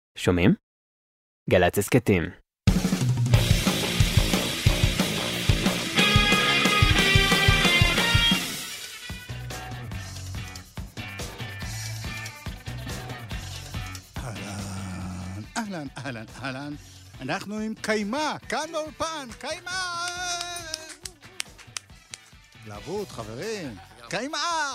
שומעים? גל"צ הסכתים. אהלן, אנחנו עם קיימה, כאן באולפן, קיימה! לעבוד, חברים, קיימה!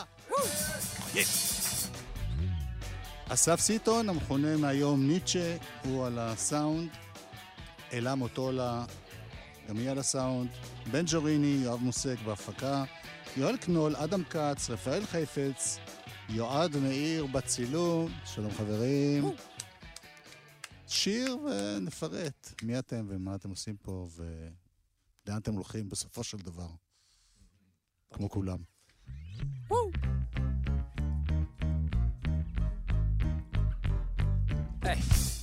אסף סיטון, המכונה מהיום ניטשה, הוא על הסאונד, אלה מוטולה, גם היא על הסאונד, בן ג'וריני, יואב מוסק בהפקה, יואל קנול, אדם קץ, רפאל חייפץ, יועד מאיר בצילום, שלום חברים. שיר ונפרט מי אתם ומה אתם עושים פה ולאן אתם הולכים בסופו של דבר. כמו כולם. Hey.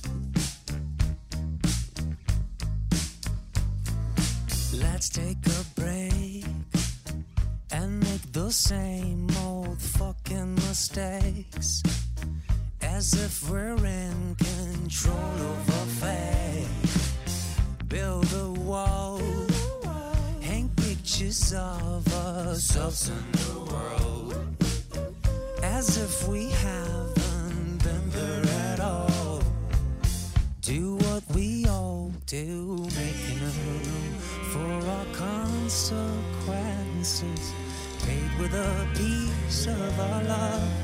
Let's take a break and make the same old fucking mistakes as if we're in control of a fate. Build a wall, hang pictures of ourselves in the world as if we haven't been there at all. Do what we all do, making a room for our consequences, paid with a piece of our love.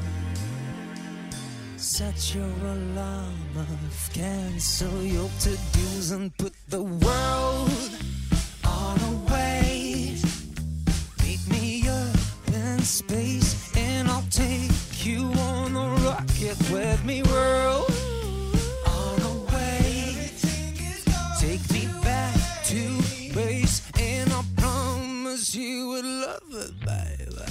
Set your alarm off, cancel your to-dos and put the world on a wait. Meet me up in space and I'll take you on a rocket with me, world. On a wait, take me back to base and I promise you would love it, baby.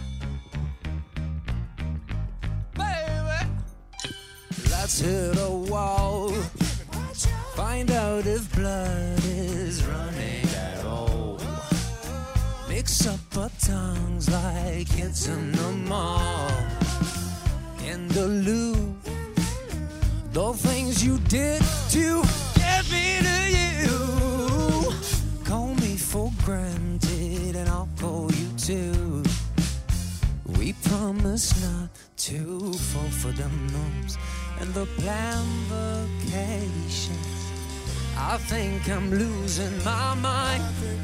Let's hit a wall, find out if blood is running at all. Mix up our tongues like it's in the mall. In the loop, the things you did to get me to you. Call me for granted and I'll call you too. We promise not to fall for them norms and the planned vacations. I think I'm losing my mind.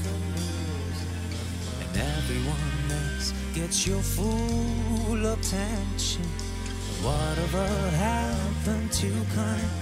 And everyone else gets your full attention. Whatever happened to kind?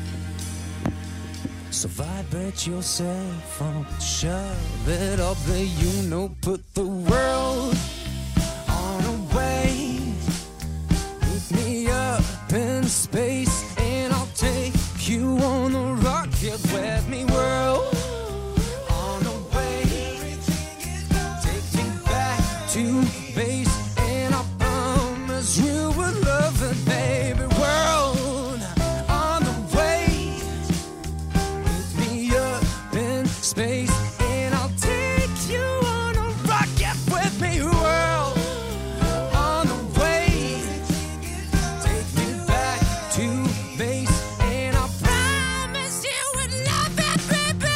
So vibrate your cell phone, shove it up there, you know, put the world on a wave. Meet me up in space and I'll take you on a rocket with me, world. On a wave, take me back to base and I promise you will love it, baby, world. On the wave, meet me up in space and I'll take you on a rocket with me, world. On the wave, take me back to base and I promise you would love it, baby.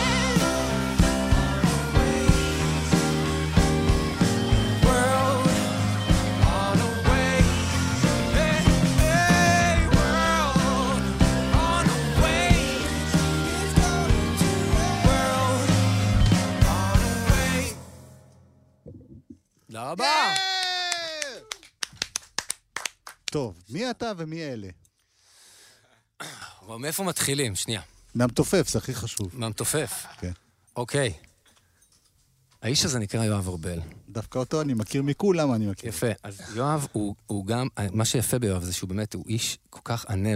World, on a wave, hey, hey, world, on a wave, world, on a wave. תודה רבה. טוב, מי אתה ומי אלה? אבל מאיפה מתחילים? שנייה. מהמתופף, זה הכי חשוב. מהמתופף. כן. אוקיי. האיש הזה נקרא יואב ארבל. דווקא אותו אני מכיר מכולם, אני מכיר. יפה. אז יואב הוא גם, מה שיפה ביואב זה שהוא באמת, הוא איש כל כך ענב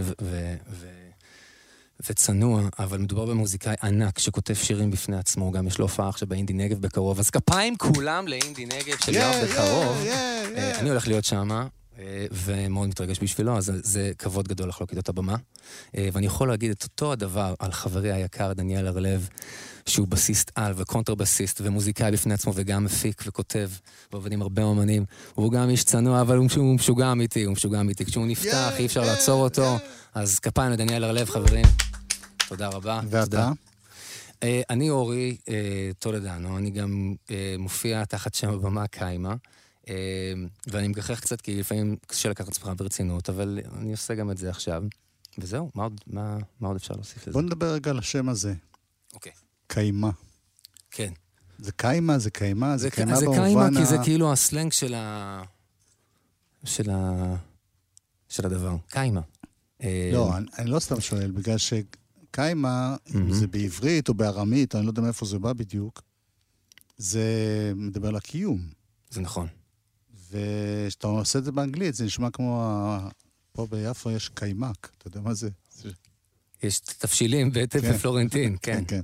וצנוע, אבל מדובר במוזיקאי ענק שכותב שירים בפני עצמו, גם יש לו הופעה עכשיו באינדי נגב בקרוב, אז כפיים כולם לאינדי נגב של יואב בקרוב. אני הולך להיות שמה, ומאוד מתרגש בשבילו, אז זה כבוד גדול לחלוק איתו את הבמה. ואני יכול להגיד את אותו הדבר על חברי היקר דניאל הרלב, שהוא בסיסט על וקונטרבסיסט ומוזיקאי בפני עצמו וגם מפיק וכותב ועובד עם הרבה אומנים. הוא גם איש צנוע, אבל הוא משוגע אמיתי, כשהוא נפתח אי אפשר לעצור אותו. אז כפיים לדניאל הרלב, חברים. תודה רבה. ואתה? אני אורי טולדנו, אני גם מופיע תחת שם הבמה קיימה, ואני מגחך קצת כי לפעמים קשה לקחת עצמך ברצינות, אבל אני עושה גם את זה עכשיו. וזהו, מה עוד אפשר להוסיף לזה? בוא נדבר רגע על השם הזה. אוקיי. קיימה. כן. זה קיימה, זה קיימה, זה קיימה זה במובן קיימה כי זה כאילו הסלנג של הדבר. קיימה. לא, אני לא סתם שואל, בגלל שקיימה, זה בעברית או בארמית, אני לא יודע מאיפה זה בא בדיוק, זה מדבר על הקיום. זה נכון. ושאתה עושה את זה באנגלית, זה נשמע כמו, פה ביפו יש קיימק, אתה יודע מה זה? יש תפשילים בפלורנטין, כן. כן.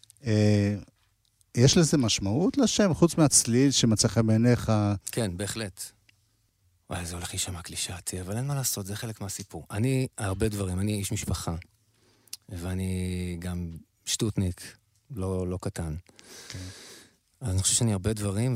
יש לזה משמעות לשם, חוץ מהצליל שמצא חן בעיניך? כן, בהחלט. וואי, זה הולך להישמע קלישאתי, אבל אין מה לעשות, זה חלק מהסיפור. אני, הרבה דברים, אני איש משפחה, ואני גם שטוטניק, לא קטן. אז אני חושב שאני הרבה דברים,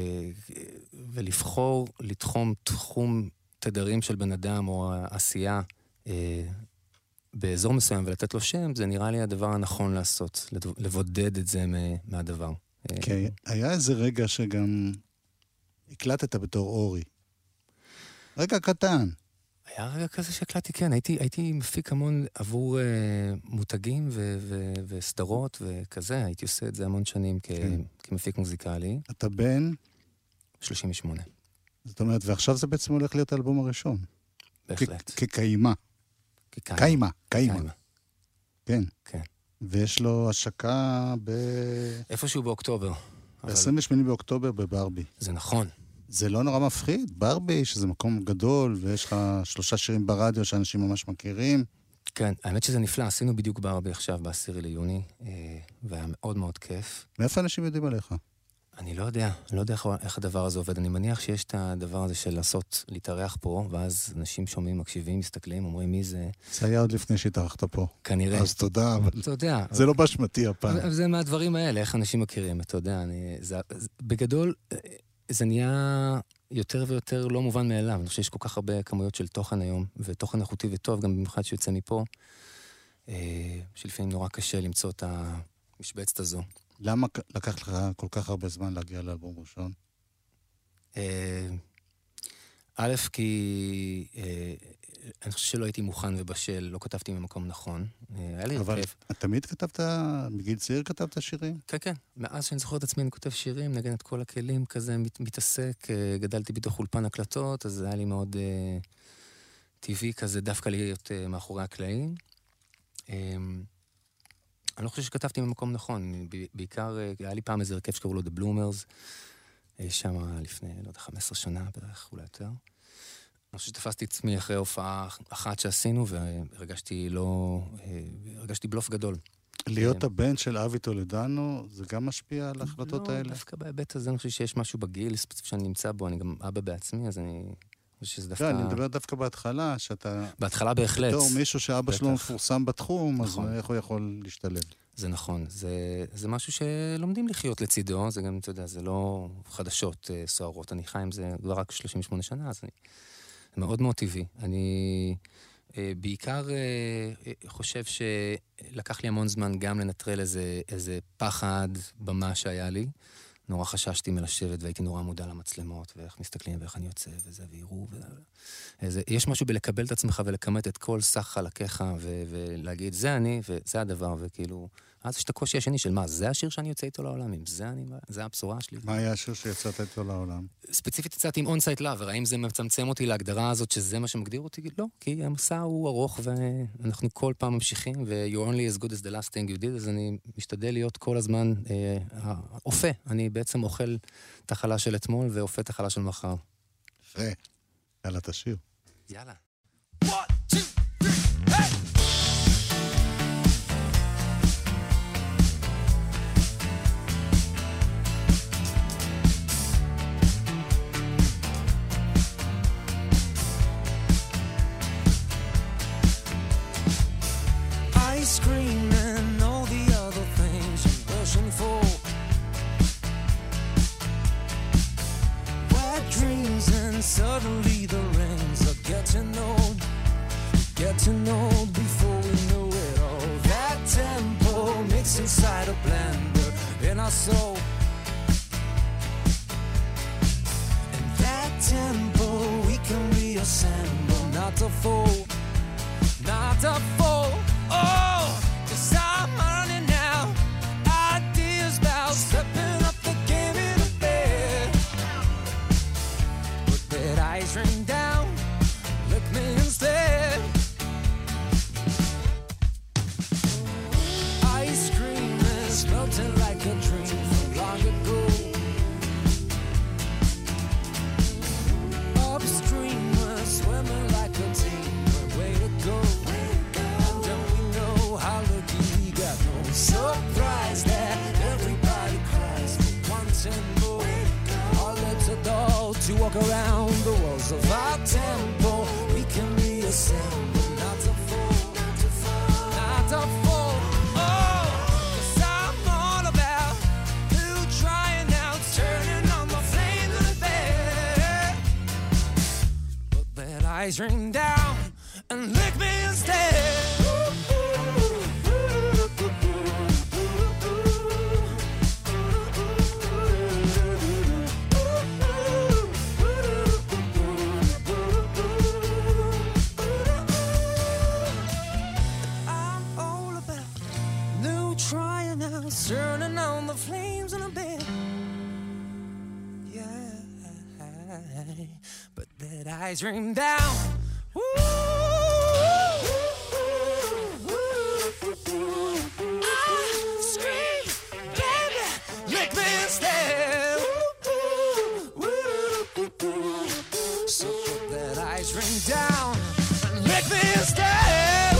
ולבחור, לתחום תחום תדרים של בן אדם, או עשייה, באזור מסוים, ולתת לו שם, זה נראה לי הדבר הנכון לעשות, לבודד את זה מהדבר. כן, היה איזה רגע שגם הקלטת בתור אורי. רגע קטן. היה רגע כזה שהקלטתי, כן. הייתי מפיק המון עבור מותגים וסדרות וכזה. הייתי עושה את זה המון שנים כמפיק מוזיקלי. אתה בן? 38. זאת אומרת, ועכשיו זה בעצם הולך להיות האלבום הראשון. בהחלט. כקיימה. קיימה. כן. כן. ויש לו השקה איפשהו באוקטובר. ב-28 באוקטובר בברבי. זה נכון. זה לא נורא מפחיד? ברבי, שזה מקום גדול, ויש לך 3 שירים ברדיו שאנשים ממש מכירים. כן, האמת שזה נפלא. עשינו בדיוק ברבי עכשיו ב10 ליוני, והיה מאוד מאוד כיף. מאיפה אנשים יודעים עליך? אני לא יודע איך הדבר הזה עובד. אני מניח שיש את הדבר הזה של להתארח פה, ואז אנשים שומעים, מקשיבים, מסתכלים, אומרים מי זה. זה היה עוד לפני שהתארחת פה. כנראה. אז תודה, אבל תודה. זה לא באשמתי הפעם. זה מהדברים האלה, איך אנשים מכירים, אתה יודע. בגדול, זה נהיה יותר ויותר לא מובן מאליו. אני חושב שיש כל כך הרבה כמויות של תוכן היום, ותוכן איכותי וטוב, גם במיוחד שיוצא מפה, שלפעמים נורא קשה למצוא את המשבצת הזו. למה לקח לך כל כך הרבה זמן להגיע לאלבום ראשון? א', כי אני חושב שלא הייתי מוכן ובשל, לא כתבתי ממקום נכון. היה לי אבל כיף. תמיד כתבת, מגיל צעיר כתבת שירים? כן, כן. מאז שאני זוכר את עצמי, אני כותב שירים, נגן את כל הכלים, כזה מתעסק. גדלתי בתוך אולפן הקלטות, אז היה לי מאוד טבעי כזה, דווקא להיות מאחורי הקלעים. אני לא חושב שכתבתי ממקום נכון. בעיקר, היה לי פעם איזה הרכב שקראו לו The Bloomers, שם לפני, לא יודע, 15 שנה בערך, אולי יותר. אני חושב שתפסתי את עצמי אחרי הופעה אחת שעשינו, והרגשתי בלוף גדול. להיות הבן של אבי טולדנו, זה גם משפיע על ההחלטות האלה? לא, דווקא בהיבט הזה, אני חושב שיש משהו בגיל ספציפי שאני נמצא בו, אני גם אבא בעצמי, אז אני חושב שזה דווקא... לא, אני מדבר דווקא בהתחלה, שאתה... בהתחלה בהחלט. בתור מישהו שאבא שלו מפורסם בתחום, אז איך הוא יכול להשתלב? זה נכון, זה משהו שלומדים לחיות לצידו, זה גם, אתה יודע, זה לא חדשות סוערות, אני חי עם זה כבר רק 38 שנה, אז זה מאוד מאוד טבעי. אני בעיקר חושב שלקח לי המון זמן גם לנטרל איזה פחד במה שהיה לי. נורא חששתי מלשבת והייתי נורא מודע למצלמות, ואיך מסתכלים ואיך אני יוצא וזה, ויראו יש משהו בלקבל את עצמך ולכמת את כל סך חלקיך ולהגיד, זה אני וזה הדבר, וכאילו, אז יש את הקושי השני של מה, זה השיר שאני יוצא איתו לעולם, אם זה הבשורה שלי. מה היה השיר שיצאת איתו לעולם? ספציפית יצאתי עם On-Site Lover, האם זה מצמצם אותי להגדרה הזאת שזה מה שמגדיר אותי? לא, כי המסע הוא ארוך ואנחנו כל פעם ממשיכים, ו-you're only as good as the last thing you did, אז אני משתדל להיות כל הזמן אופה, אני בעצם אוכל את החלה של אתמול ואופה את החלה של מחר. יפה, יאללה תשיר. יאללה. 1, 2, 3, hey! Ice cream and all the other things you're wishing for. Wet dreams and suddenly the rings are get to know old before we know it all. That tempo mixed inside a blender in our soul. And that tempo we can reassemble, not to fall, not to fall. Oh, 'cause I'm running now. Ideas about stepping up the game in the bed. Put that ice ring down, lick me instead. Ice cream is melting like a dream from long ago. Upstream we're swimming like a team, way to go. And don't we know how lucky we got? No surprise that everybody cries for wanting more. All it's a doll to walk around the walls of our tempo. We can reassemble, not to fall, not to fall, not to fall. Oh, 'cause I'm all about you trying out, turning on the flame of the bed. Put that ice ring down and lick me instead. I'm all about new trying out, turning on the flames in a bed. Yeah, but that ice ring down. Woo! I scream, baby, lick me instead. So put that ice ring down and lick me instead.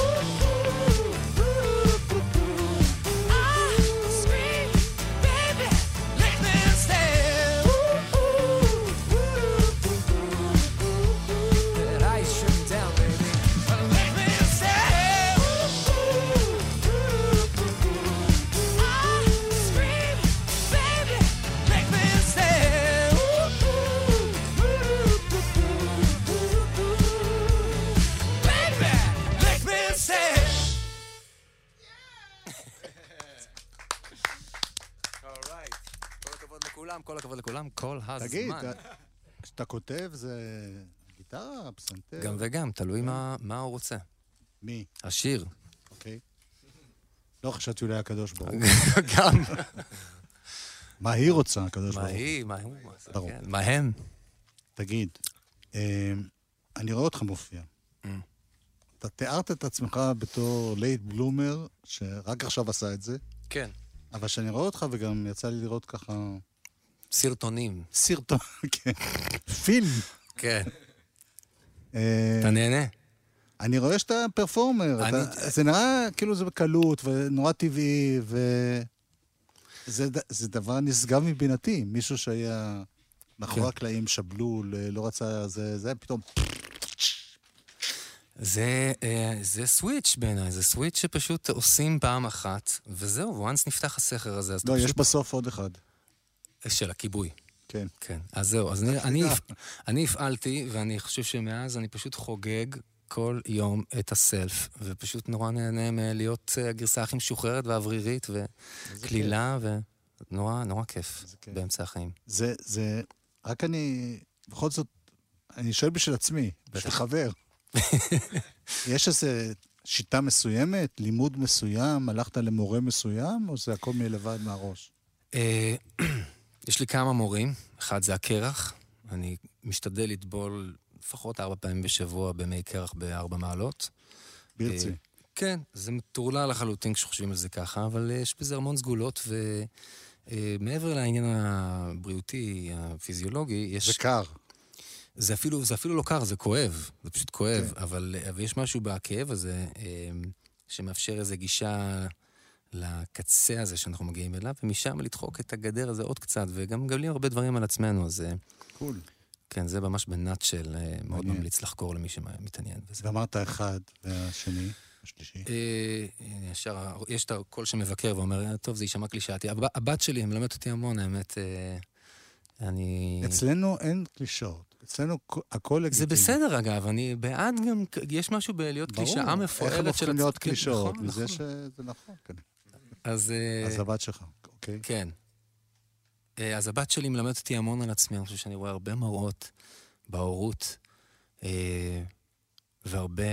I scream, baby, lick me instead. That ice ring down, baby, and lick me instead. I scream, baby, lick me instead. Baby, lick me instead. אורייט. כל הכבוד לכולם, כל הכבוד לכולם, כל הזמן. תגיד, כשאתה כותב זה גיטרה, פסנתר? גם וגם, תלוי מה הוא רוצה. מי? השיר. אוקיי. לא חשבתי אולי הקדוש ברוך הוא. גם. מה היא רוצה, הקדוש ברוך מה הוא? היא, מה הוא. ברור. כן, מה הם? תגיד, אני רואה אותך מופיע. אתה תיארת את עצמך בתור לייט בלומר, שרק עכשיו עשה את זה, כן. אבל שאני רואה אותך וגם יצא לי לראות ככה סרטונים. סרטון, כן, פילם. כן. אתה נהנה? אני רואה שאתה פרפורמר, זה נראה כאילו זה בקלות ונורא טבעי, וזה דבר נשגב מבינתי. מישהו שהיה מאחורי הקלעים שבלול, לא רצה, זה פתאום... זה סוויץ' בעיניי, זה סוויץ' שפשוט עושים פעם אחת, וזהו, וואנס נפתח הסכר הזה. לא, יש בסוף עוד אחד. של הכיבוי. כן. כן, אז זהו, אז אני הפעלתי, ואני חושב שמאז אני פשוט חוגג כל יום את הסלף, ופשוט נורא נהנה מלהיות הגרסה הכי משוחררת ואוורירית, וכלילה, ונורא כיף באמצע החיים. זה, רק אני, בכל זאת, אני שואל בשביל עצמי, בשביל חבר. יש איזו שיטה מסוימת, לימוד מסוים, הלכת למורה מסוים, או זה הכל מלבד מהראש? יש לי כמה מורים, אחד זה הקרח, אני משתדל לטבול לפחות 4 פעמים בשבוע במי קרח ב4 מעלות. ברצי. כן, זה מטורלל לחלוטין כשחושבים על זה ככה, אבל יש בזה המון סגולות, ומעבר לעניין הבריאותי, הפיזיולוגי, יש... זה קר. זה אפילו לא קר, זה כואב, זה פשוט כואב, אבל יש משהו בכאב הזה שמאפשר איזו גישה לקצה הזה שאנחנו מגיעים אליו, ומשם לדחוק את הגדר הזה עוד קצת, וגם גלים הרבה דברים על עצמנו, אז... קול. כן, זה ממש בנאט של מאוד ממליץ לחקור למי שמתעניין בזה. ואמרת אחד, והשני, השלישי. יש את הקול שמבקר ואומר, טוב, זה יישמע קלישאתי. הבת שלי מלמדת אותי המון, האמת, אני... אצלנו אין קלישאות. אצלנו הכל לגיטימי. זה בסדר, אגב, אני בעד גם, יש משהו בלהיות קלישאה מפוארת. איך הם הופכים להיות קלישאות? נכון, מזה נכון. שזה נכון, כן. אז הבת שלך, אוקיי? כן. אז הבת שלי מלמדת אותי המון על עצמי, אני חושב שאני רואה הרבה מראות בהורות, והרבה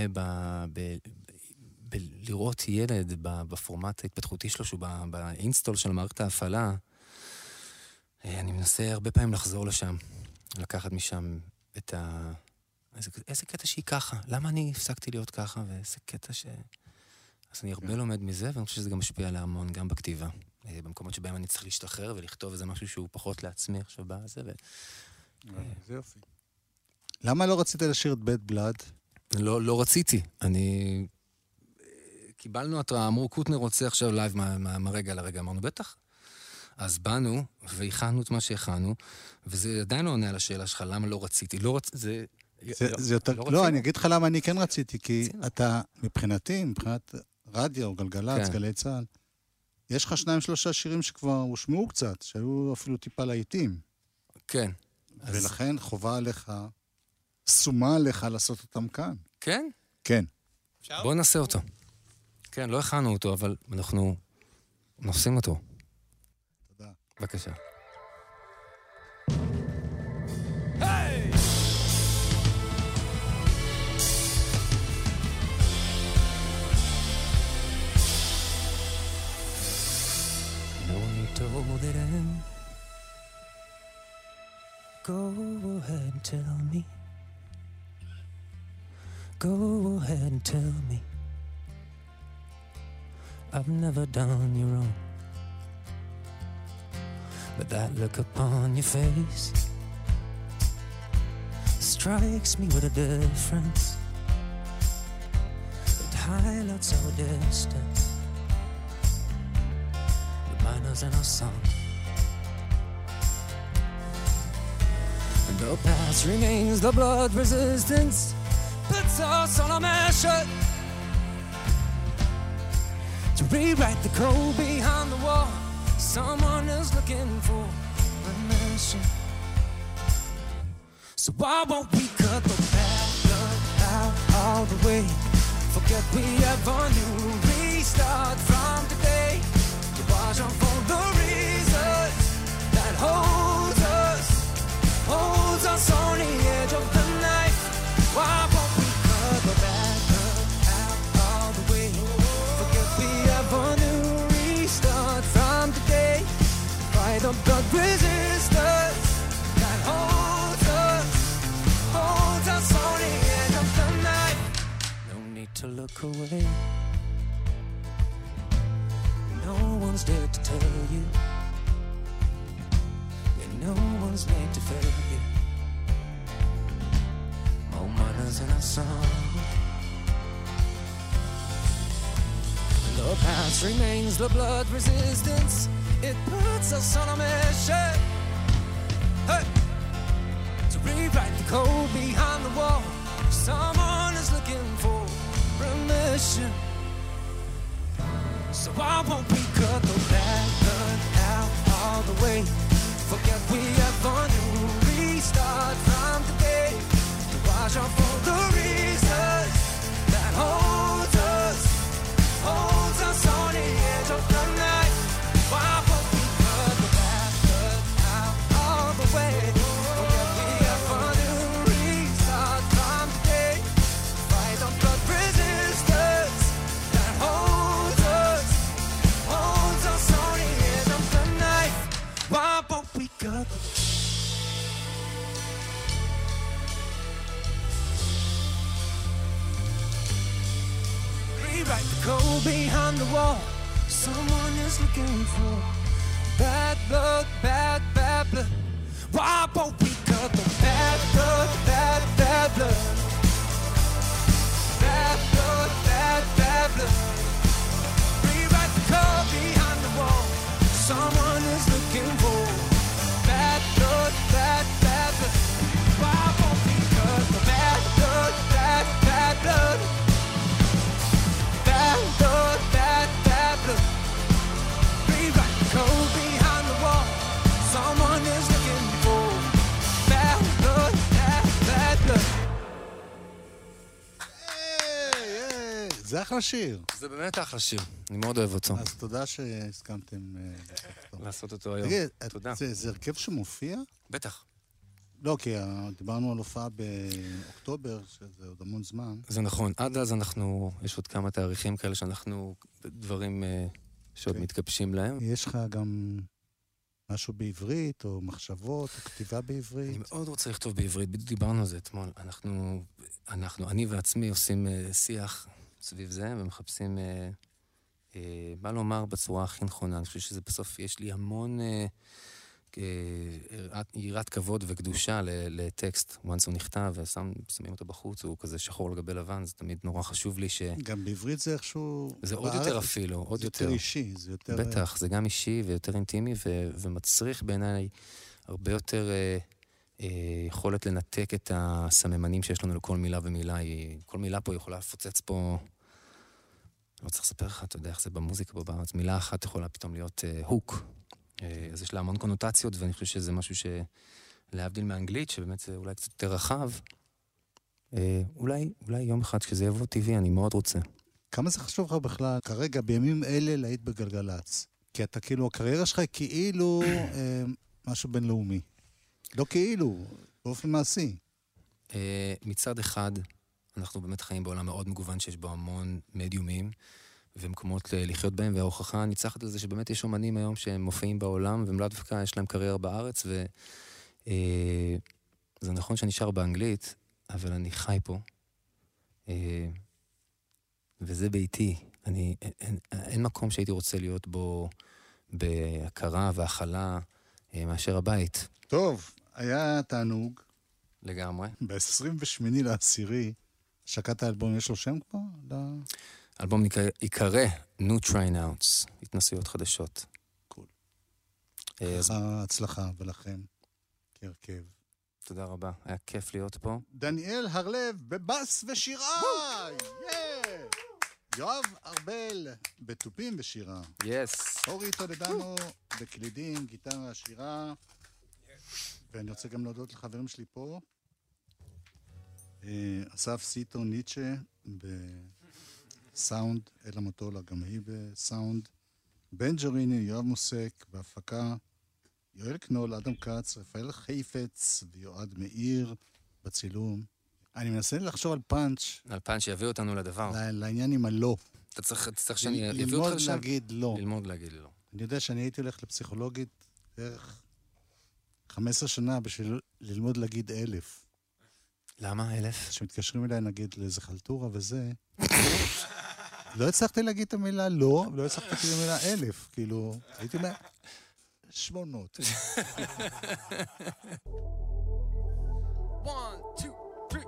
לראות ילד בפורמט ההתפתחותי שלו, שהוא באינסטול של מערכת ההפעלה, אני מנסה הרבה פעמים לחזור לשם, לקחת משם את איזה קטע שהיא ככה, למה אני הפסקתי להיות ככה, ואיזה קטע אז אני הרבה לומד מזה, ואני חושב שזה גם משפיע עליה המון, גם בכתיבה. במקומות שבהם אני צריך להשתחרר ולכתוב איזה משהו שהוא פחות לעצמי עכשיו בזה. זה יופי. למה לא רצית לשיר את בית בלד? לא רציתי. קיבלנו התראה, אמרו, קוטנר רוצה עכשיו לייב מהרגע לרגע. אמרנו, בטח. אז באנו והכנו את מה שהכנו, וזה עדיין לא עונה על השאלה שלך, למה לא רציתי. זה יותר... לא, אני אגיד לך למה אני כן רציתי, כי אתה, מבחינתי, מבחינת רדיו, גלגלצ, גלי צהל, יש לך 2-3 שירים שכבר הושמעו קצת, שהיו אפילו טיפה לעיתים. כן. ולכן חובה עליך, סומה עליך לעשות אותם כאן. כן? כן. בואו נעשה אותו. כן, לא הכנו אותו, אבל אנחנו נעשים אותו. תודה. בבקשה. Told it in. Go ahead and tell me. Go ahead and tell me. I've never done you wrong, but that look upon your face strikes me with a difference. It highlights our distance. Miners in our song, and our past remains the blood resistance puts us on a mission to rewrite the code behind the wall. Someone is looking for permission, so why won't we cut the bad blood out all the way? Forget we ever knew. Restart from today. Watch out for the reasons that holds us on the edge of the knife. Why won't we cut the bad blood out all the way? Forget we ever knew. Restart from today. Fight the blood resistance that holds us on the edge of the knife. No need to look away. No one's there to tell you. Yeah, no one's made to fail you. More miners in our song. And the past remains the blood resistance. It puts us on a mission, hey, to rewrite the code behind the wall. Someone is looking for permission. So why won't we cut the bad blood out all the way? Forget we ever knew. Restart from today. To watch out for the reasons that holds us on the edge of the night. Why won't we cut the bad blood out all the way? Forget we ever knew. Restart from today. Fight the blood resistance that holds us on the edge of the knife. Why won't we cut? Rewrite the code behind the wall. Someone is looking for bad blood, bad blood. Why won't we cut the bad blood, bad blood? Bad blood, bad blood. Rewrite the code behind the wall. Someone is looking for bad blood, bad blood. Why won't we cut the bad blood, bad blood? Bad blood, bad blood. Rewrite the code behind the wall. Someone is looking for bad blood, bad זה אחלה שיר. זה באמת אחלה שיר, אני מאוד אוהב אותו. אז תודה שהסכמתם לעשות אותו היום. תגיד, תודה. זה הרכב שמופיע? בטח. לא, כי דיברנו על הופעה באוקטובר, שזה עוד המון זמן. זה נכון. עד אז יש עוד כמה תאריכים כאלה שאנחנו דברים שעוד מתגבשים להם. יש לך גם משהו בעברית, או מחשבות, או כתיבה בעברית? אני מאוד רוצה לכתוב בעברית, בדיוק דיברנו על זה אתמול. אני ועצמי עושים שיח סביב זה, ומחפשים מה לומר בצורה הכי נכונה. אני חושב שזה בסוף, יש לי המון יראת כבוד וקדושה לטקסט. once הוא נכתב ושמים אותו בחוץ, הוא כזה שחור לגבי לבן, זה תמיד נורא חשוב לי גם בעברית זה איכשהו... זה עוד יותר אפילו, עוד יותר. זה יותר אישי, זה יותר... בטח, זה גם אישי ויותר אינטימי, ומצריך בעיניי הרבה יותר יכולת לנתק את הסממנים שיש לנו לכל מילה ומילה. כל מילה פה יכולה לפוצץ פה... לא צריך לספר לך, אתה יודע איך זה במוזיקה פה בארץ. מילה אחת יכולה פתאום להיות הוק. אז יש לה המון קונוטציות, ואני חושב שזה משהו שלהבדיל מאנגלית, שבאמת זה אולי קצת יותר רחב, אולי יום אחד כשזה יבוא טבעי, אני מאוד רוצה. כמה זה חשוב לך בכלל, כרגע, בימים אלה, להיט בגלגלץ? כי אתה כאילו, הקריירה שלך היא כאילו משהו בינלאומי. לא כאילו, באופן מעשי. מצד אחד, אנחנו באמת חיים בעולם מאוד מגוון, שיש בו המון מדיומים, ומקומות לחיות בהם, וההוכחה הניצחת על זה שבאמת יש אומנים היום שהם מופיעים בעולם, והם לא דווקא יש להם קריירה בארץ, זה נכון שאני שר באנגלית, אבל אני חי פה, וזה ביתי. אין מקום שהייתי רוצה להיות בו בהכרה והכלה מאשר הבית. טוב, היה תענוג. לגמרי. ב-28 לעשירי, שקעת האלבום, יש לו שם כבר? האלבום יקרא New Tryouts, התנסויות חדשות. קול. הצלחה ולכם, כהרכב. תודה רבה, היה כיף להיות פה. דניאל הרלב בבאס ושירה! יואב ארבל בטופים ושירה. אורי תולדנו בקלידים, גיטרה, שירה. ואני רוצה גם להודות לחברים שלי פה. אסף סיטו ניטשה בסאונד, אלה מוטולה גם היא בסאונד. בן ג'וריני, יואב מוסק בהפקה. יואל קנול, אדם קץ, רפאל חיפץ ויועד מאיר בצילום. אני מנסה לחשוב על פאנץ'. על פאנץ' שיביא אותנו לדבר. לעניין עם הלא. אתה צריך שאני אביא אותך לשם? ללמוד להגיד לא. ללמוד להגיד לא. אני יודע שאני הייתי הולך לפסיכולוגית בערך 15 שנה בשביל ללמוד להגיד 1000. למה 1000? כשמתקשרים אליי נגיד לאיזה חלטורה וזה, לא הצלחתי להגיד את המילה לא, ולא הצלחתי להגיד את המילה 1000. כאילו, הייתי אומר 800. 1, 2, 3,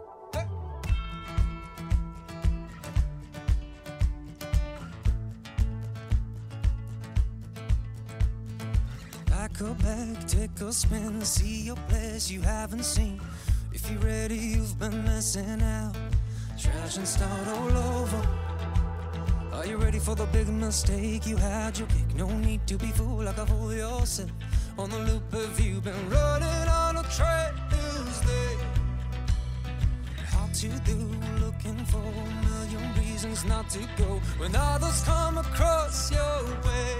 Pack a bag, take a spin, see a place you haven't seen. If you're ready, you've been missing out. Trash and start all over. Are you ready for the big mistake? You had your pick, no need to be fooled like a fool yourself. On the loop, have you been running on a track Tuesday? Hard to do, looking for a million reasons not to go when others come across your way.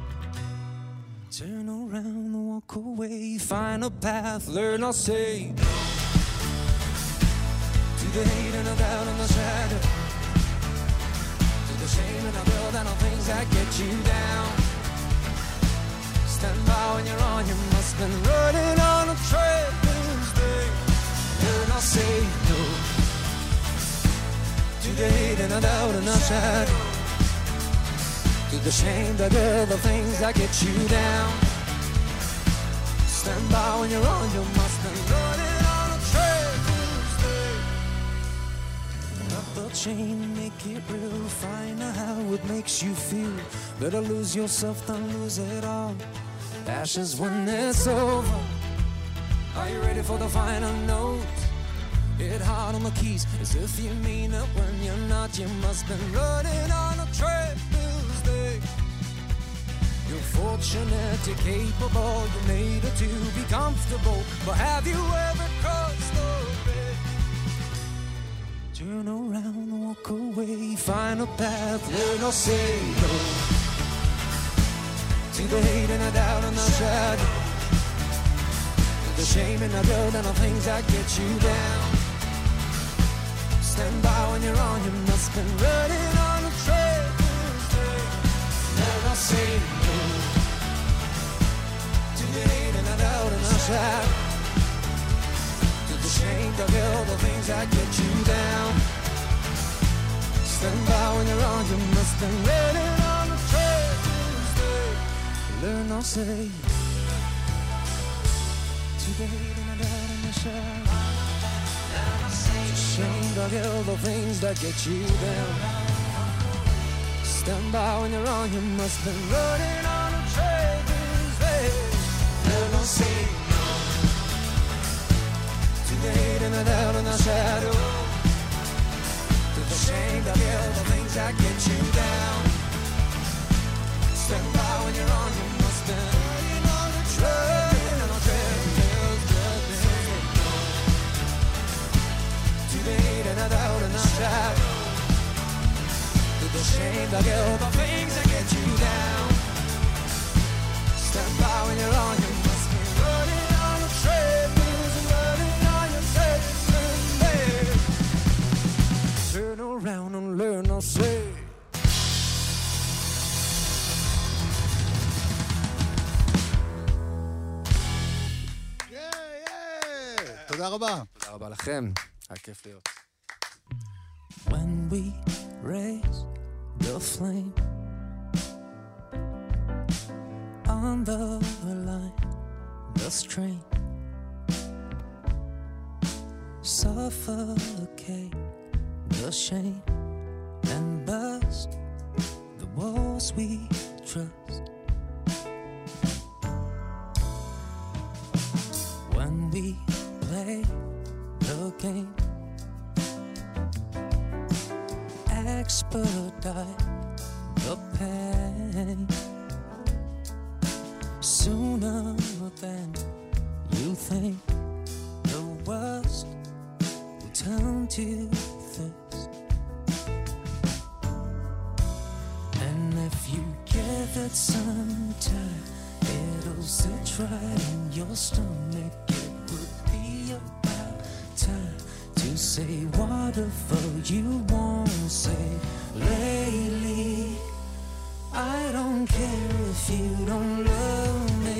Turn around, walk away, find a path, learn or say to the hate and the doubt and the shadow, to the shame and the guilt and the things that get you down. Stand by when you're on, you must have been running on a trail Tuesday. Learn or say no to the hate and the doubt and the shadow, to the shame, the guilt, the things that get you down. Stand by when you're on, you must have been running on a trail Tuesday. Cut the chain, make it real, find out how it makes you feel. Better lose yourself than lose it all. Ashes when it's over. Are you ready for the final note? Hit hard on the keys, as if you mean it when you're not. You must have been running on a trail Tuesday. You're fortunate, you're capable, you made it to be comfortable. But have you ever crossed the bridge? Turn around, walk away, find a path, learn or say no to the hate and the doubt and the shadow, the shame and the guilt and the things that get you down. Stand by when you're on, you must have been running on a trail. Never say no to the hate and the doubt and the shadow, to the shame, the guilt, the things that get you down. Stand by when you're on, you must have been running on a trail. Learn or say to the hate and the doubt and the shadow, shame, the guilt, the things that get you down. Stand by when you're on, you must have been running on a trail. Learn or say no to the hate and the doubt and the shadow, to the shame, the guilt, the things that get you down. Stand by when you're on, you must have been running on a trail. The hate and the doubt and the shadow, to the shame, the guilt, the things that get you down. Stand by when you're on, you must be running on the treadmills and running on your treadmills. Turn around and learn or say. תודה רבה. תודה רבה לכם. היה כיף להיות. When we raise the flame on the line, the strain suffocate the shame and burst the walls we trust. When we play the game, expedite the pain sooner than you think. The worst will turn to thirst, and if you give it some time, it'll sit right in your stomach. It would be about time to say whatever you won't say. Lately, I don't care if you don't love me.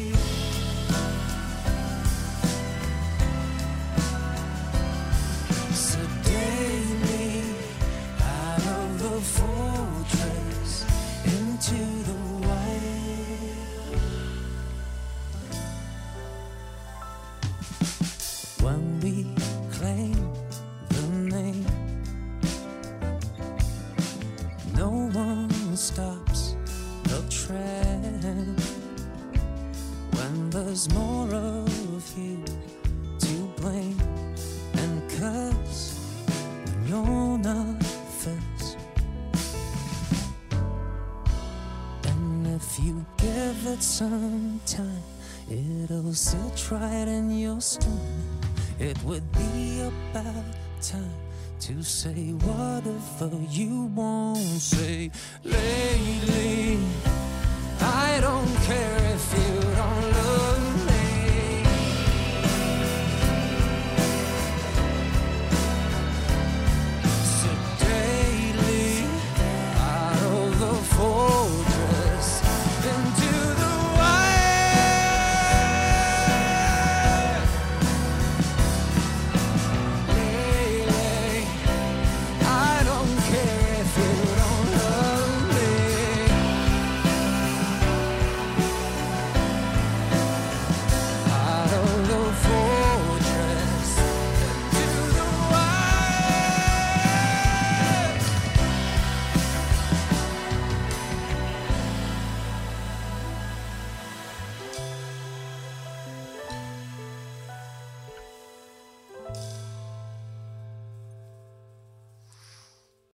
So daily, out of the fortress into the wild. When we claim the name, no one stops the trend. When there's more of you to blame and curse when you're not first. And if you give it some time, it'll sit right in your stomach. It would be about time to say whatever you won't say.